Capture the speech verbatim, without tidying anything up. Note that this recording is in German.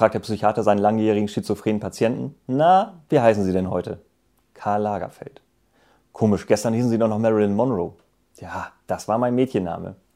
fragt der Psychiater seinen langjährigen schizophrenen Patienten. Na, wie heißen Sie denn heute? Karl Lagerfeld. Komisch, gestern hießen Sie doch noch Marilyn Monroe. Ja, das war mein Mädchenname.